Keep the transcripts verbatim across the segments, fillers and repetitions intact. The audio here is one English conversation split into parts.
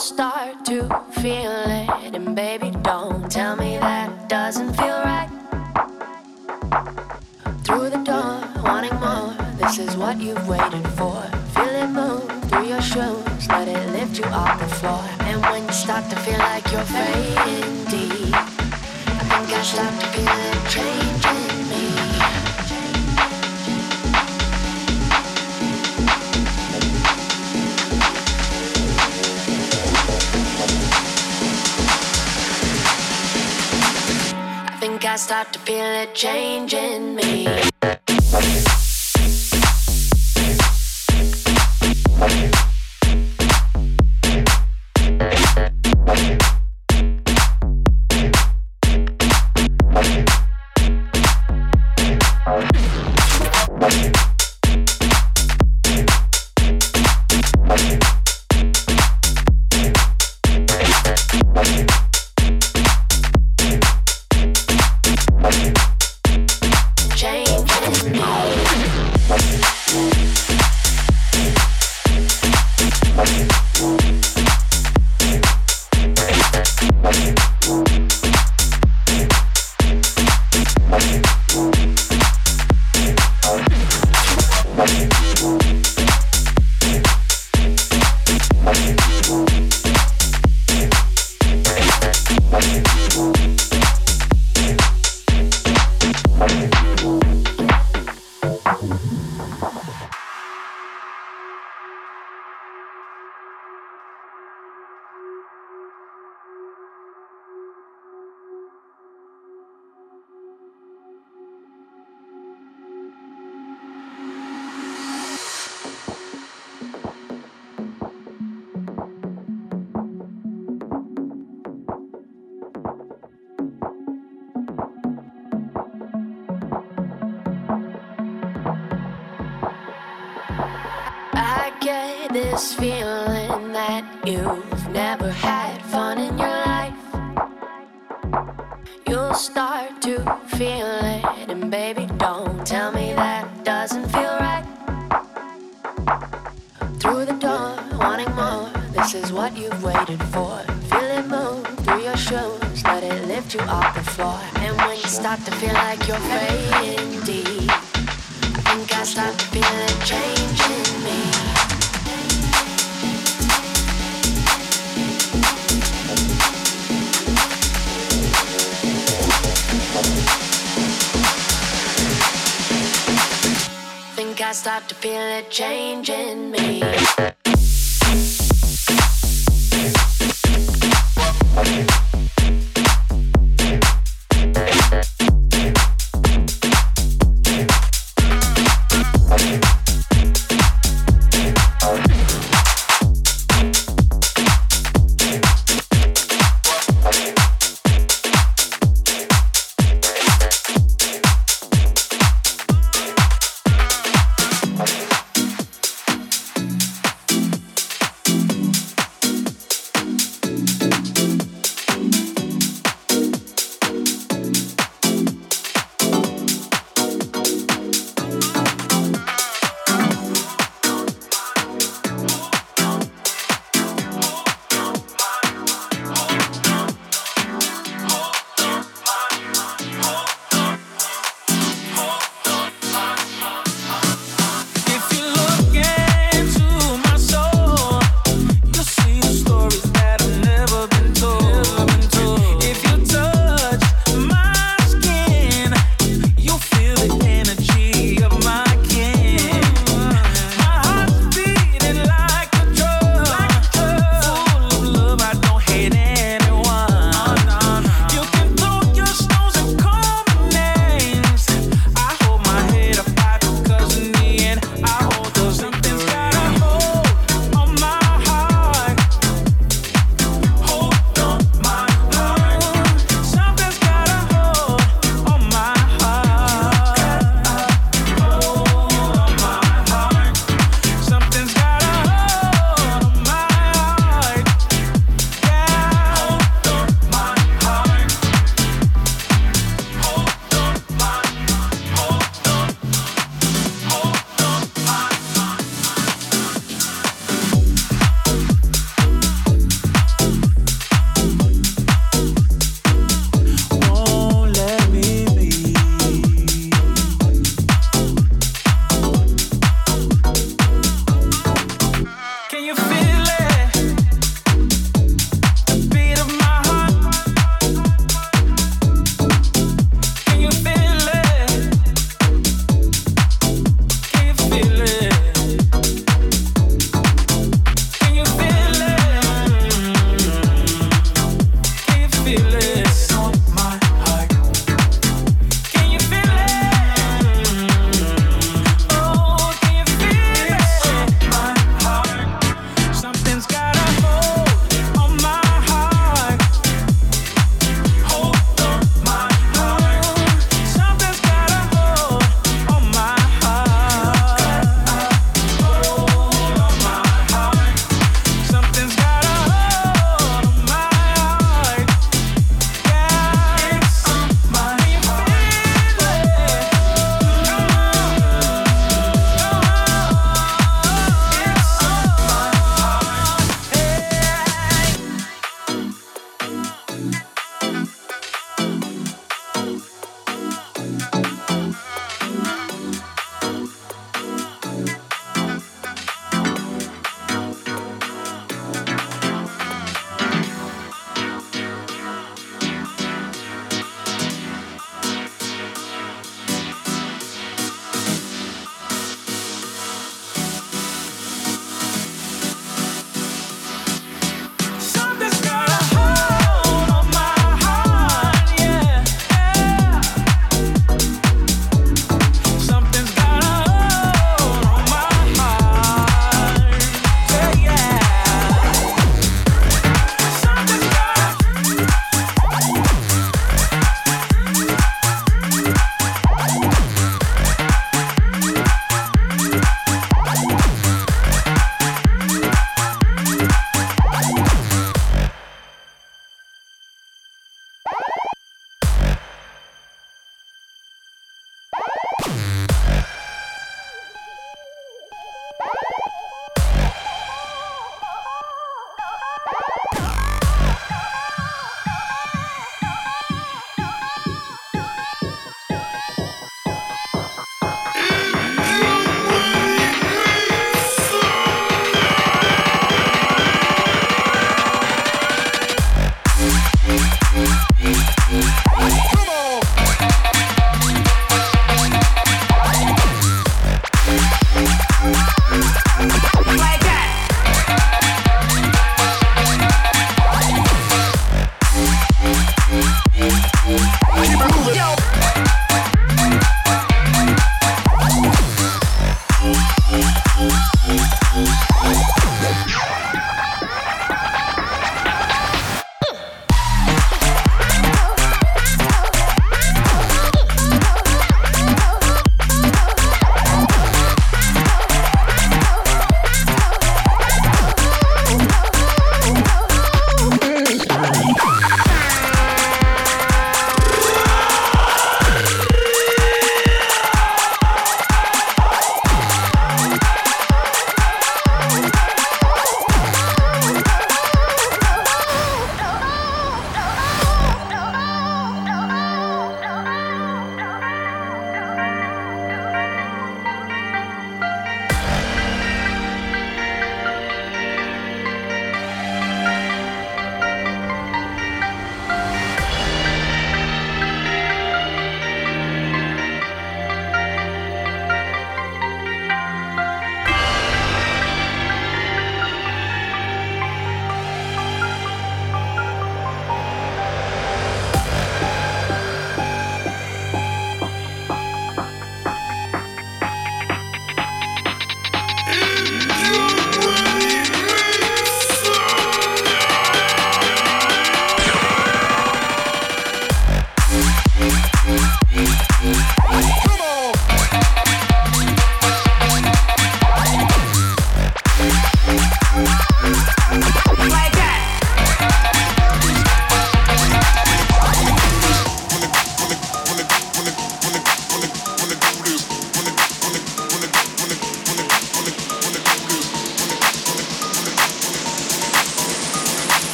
start to feel it, and baby, don't tell me that doesn't feel right. Through the door, wanting more, this is what you've waited for. Feel it move through your shoes, let it lift you off the floor. And when you start to feel like you're fading deep, I think I start to feel it changing me. I start to feel it changing me. This feeling that you've never had fun in your life. You'll start to feel it, and baby, don't tell me that doesn't feel right. Through the door, wanting more, this is what you've waited for. Feel it move through your shoes, let it lift you off the floor. And when you start to feel like you're fading deep, I think I start to feel it changing me. I start to feel it changing me.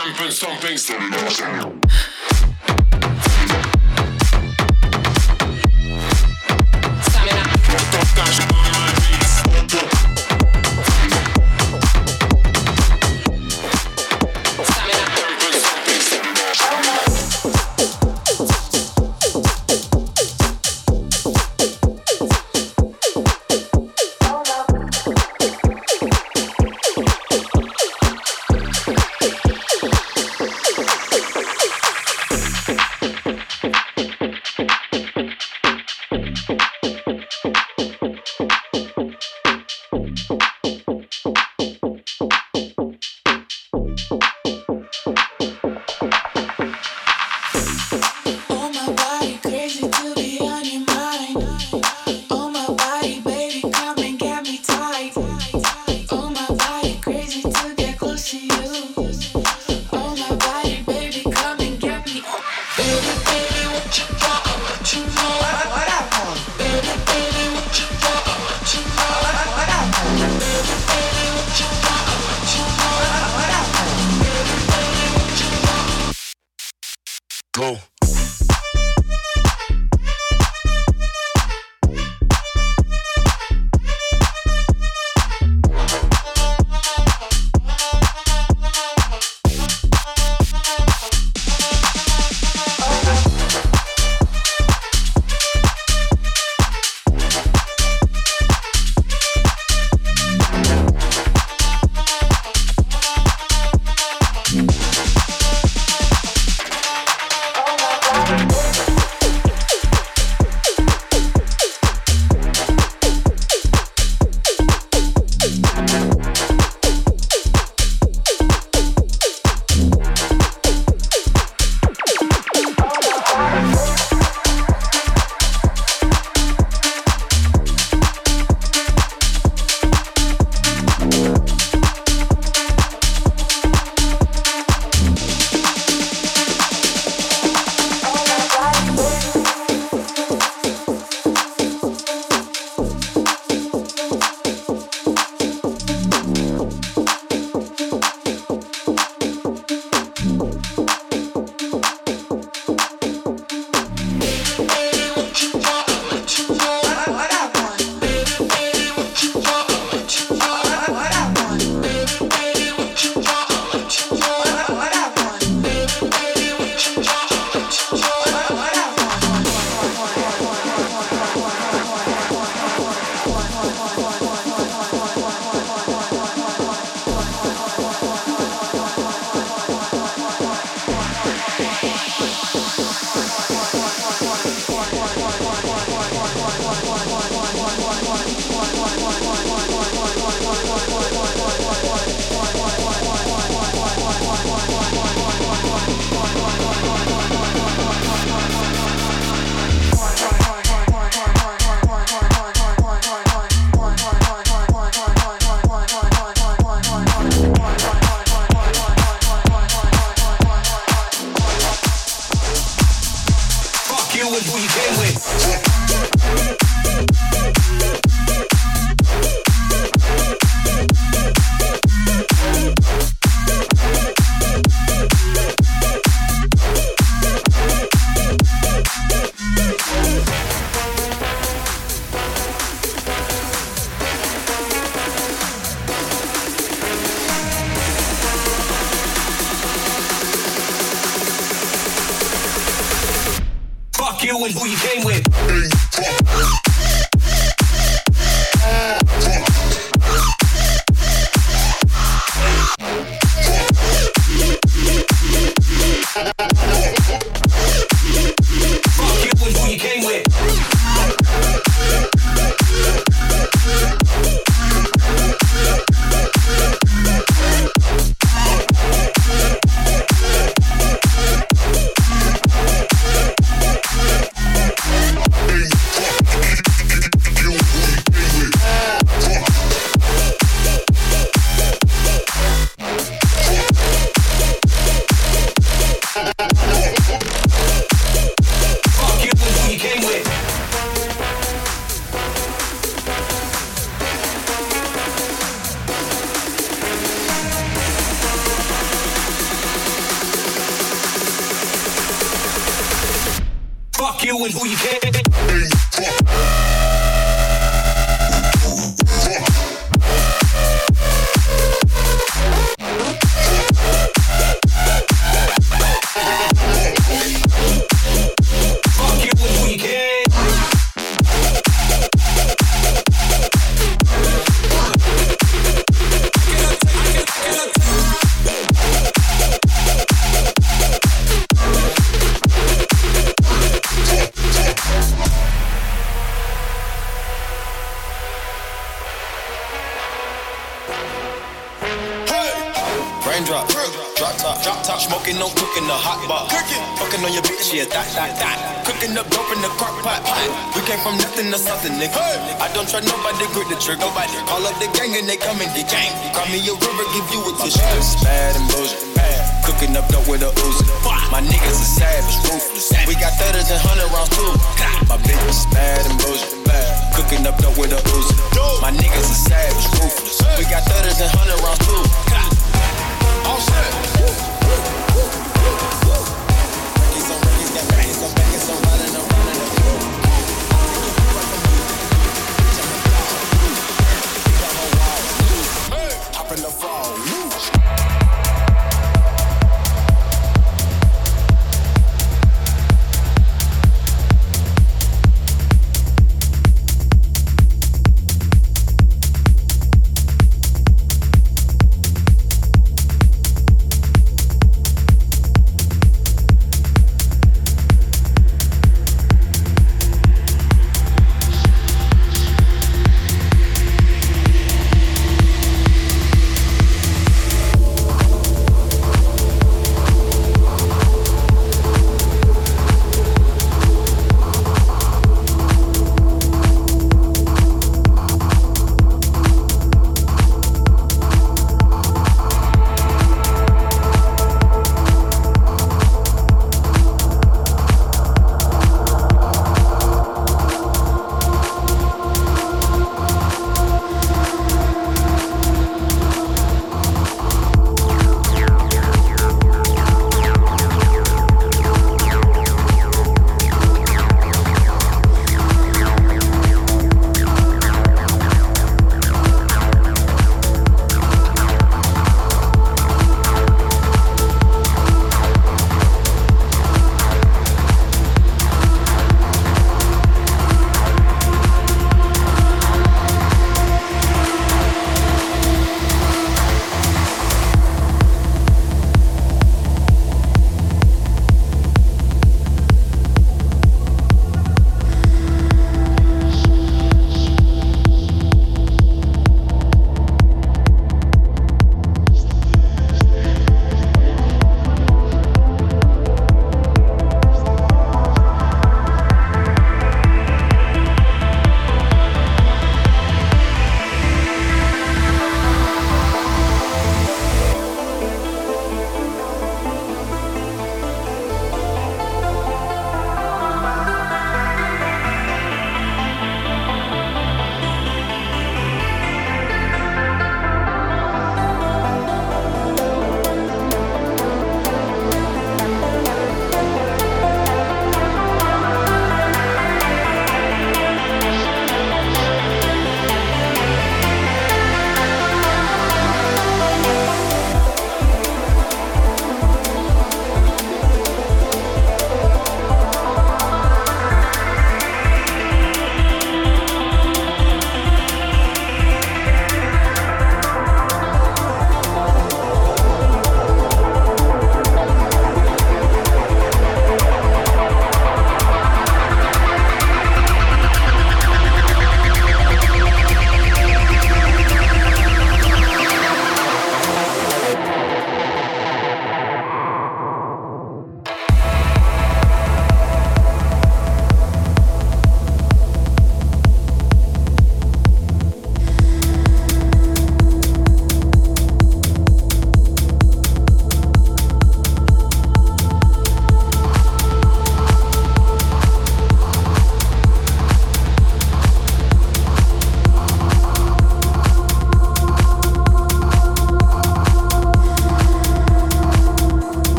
Stamping, stomping, stomping. Go. You and who you came with. Fuck you and who you can. Raindrop, drop top, drop top, smoking, no cooking, the hot bar. Fucking on your bitch, yeah, that, that, that. Cooking up dope in the crock pot, pot. We came from nothing to something, nigga. I don't try nobody, grip the trigger. Nobody call up the gang and they come and get gang. Call me a river, give you a tissue. It's bad and bullshit. Cooking up dope with a Uzi. My niggas are savage, ruthless. We got thudders and hundred rounds too. My bitch is bad and bullshit. Cooking up dope with a Uzi. My niggas are savage, ruthless. We got thudders and hundred rounds too. All set. He's on, he's got back, he's on back, he's on riding, I'm running up. Hop in the fall.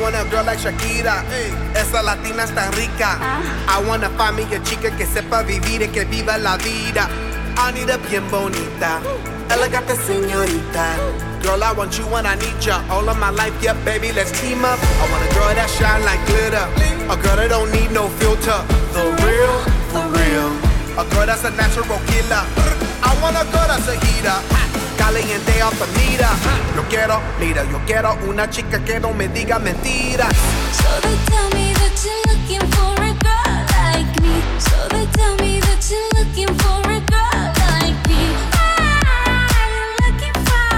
want a girl like Shakira, esa latina es tan rica. I wanna find me a chica que sepa vivir y que viva la vida. I need a bien bonita, elegante señorita. Girl, I want you when I need ya. All of my life, yeah, baby, let's team up. I want a girl that shine like glitter, a girl that don't need no filter. The real, for real. A girl that's a natural killer. I want a girl that's a heater, caliente off the meter. Yo quiero, mira, yo quiero una chica que no me diga mentiras. So they tell me that you're looking for a girl like me. So they tell me that you're looking for a girl like me. I'm looking for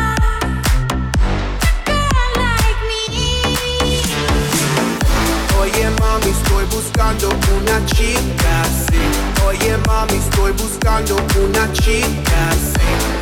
a girl like me. Oye mami, estoy buscando una chica, sí. Oye mami, estoy buscando una chica, sí.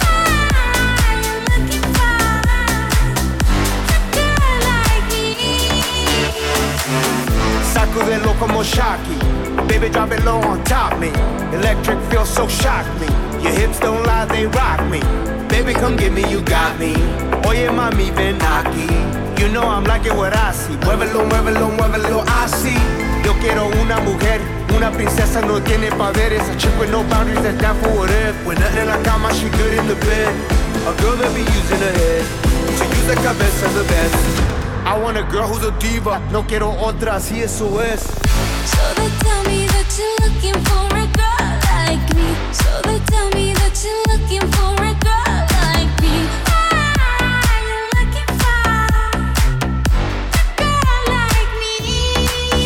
Sacudelo como Shocky, baby drop it low on top me. Electric feels so shock me. Your hips don't lie, they rock me. Baby come get me, you got me. Oye mami, ven aquí. You know I'm liking what I see. Muévelo, muévelo, muévelo, así. Yo quiero una mujer, una princesa no tiene poderes. A chick with no boundaries that's down for whatever. When nothing in la cama, she good in the bed. A girl that be using her head to use the cabeza the best. I want a girl who's a diva, no quiero otra, así eso es. So they tell me that you're looking for a girl like me. So they tell me that you're looking for a girl like me. I'm looking for a girl like me.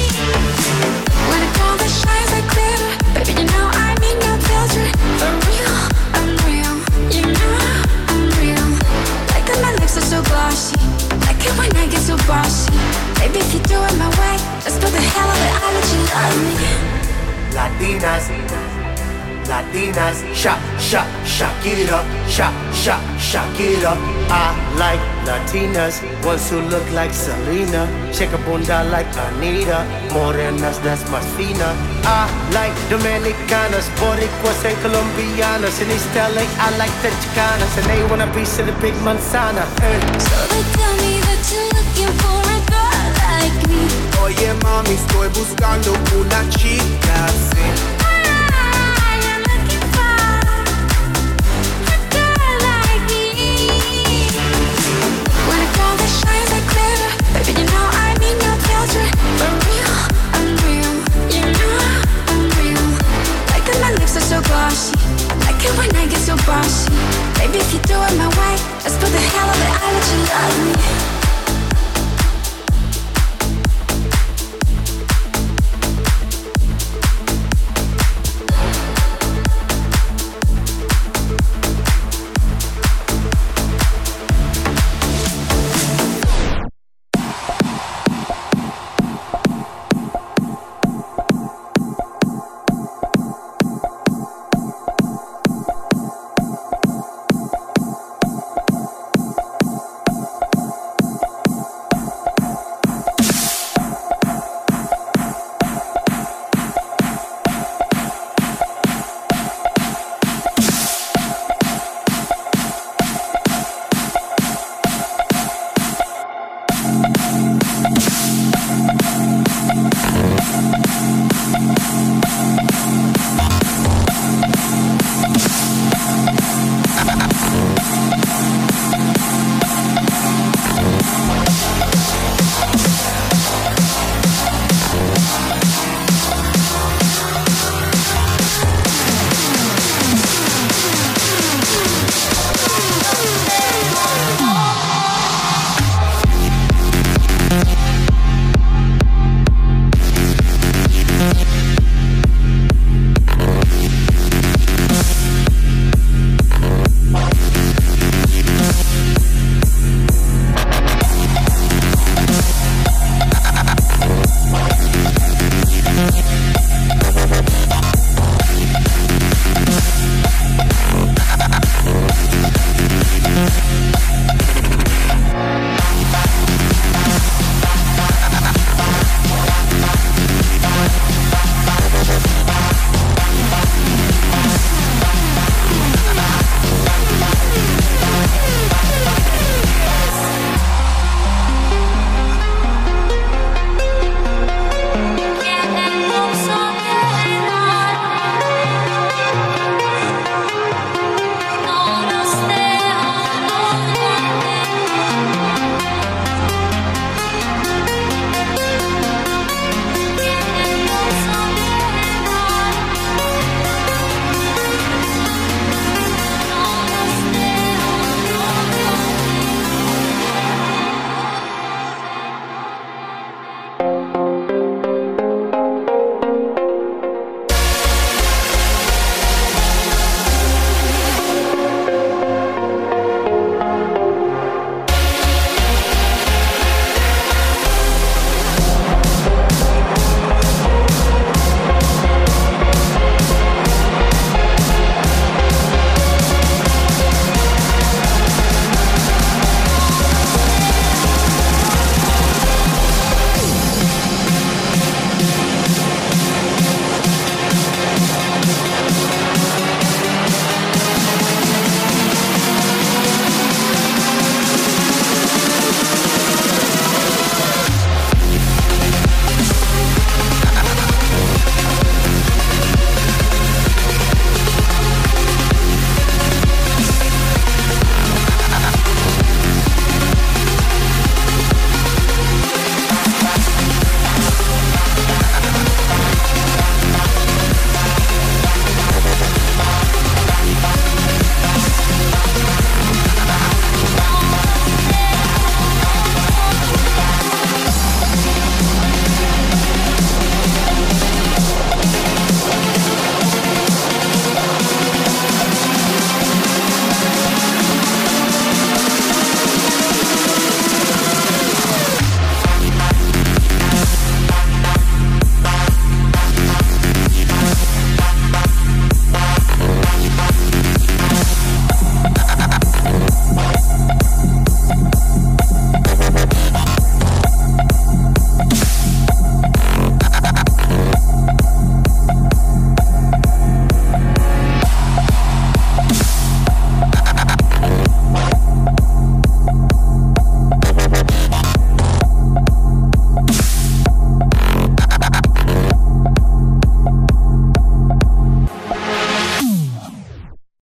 When a girl that shines like glitter, baby, you know I'm in your filter. For real, I'm real, you know I'm real. Like that my lips are so glossy, like it when I get so bossy. Baby, if you do it my way, just for the hell of it, I'll let you love me. Latinas, Latinas, shake, shake, shake it up, shake, shake, shake it up. I like Latinas, ones who look like Selena, shake a bunda like Anita, morenas that's más fina. I like Dominicanas, Boricuas and Colombianas, in East L A I like the Chicanas, and they want a piece of the big manzana. Eh. So they tell me that you're looking for a girl like me. Oye mami, estoy buscando una chica, sí. I'm looking for a girl like me. When a girl that shines like glitter, baby, you know I'm in your filter. For real, I'm real, you know I'm real. Like that my lips are so glossy, like it when I get so bossy. Baby, if you do it my way, just for the hell of it, I'll let you love me.